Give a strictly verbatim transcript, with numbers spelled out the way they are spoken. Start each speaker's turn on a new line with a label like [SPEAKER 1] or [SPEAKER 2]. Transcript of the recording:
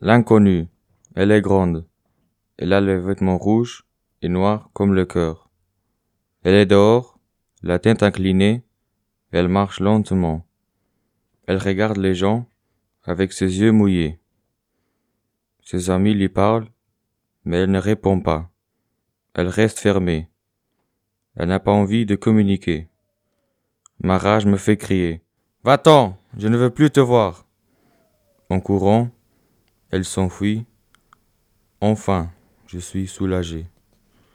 [SPEAKER 1] L'inconnue, elle est grande. Elle a les vêtements rouges et noirs comme le cœur. Elle est dehors, la tête inclinée, elle marche lentement. Elle regarde les gens avec ses yeux mouillés. Ses amis lui parlent, mais elle ne répond pas. Elle reste fermée. Elle n'a pas envie de communiquer. Ma rage me fait crier. « Va-t'en, je ne veux plus te voir !» En courant, elle s'enfuit. Enfin, je suis soulagé.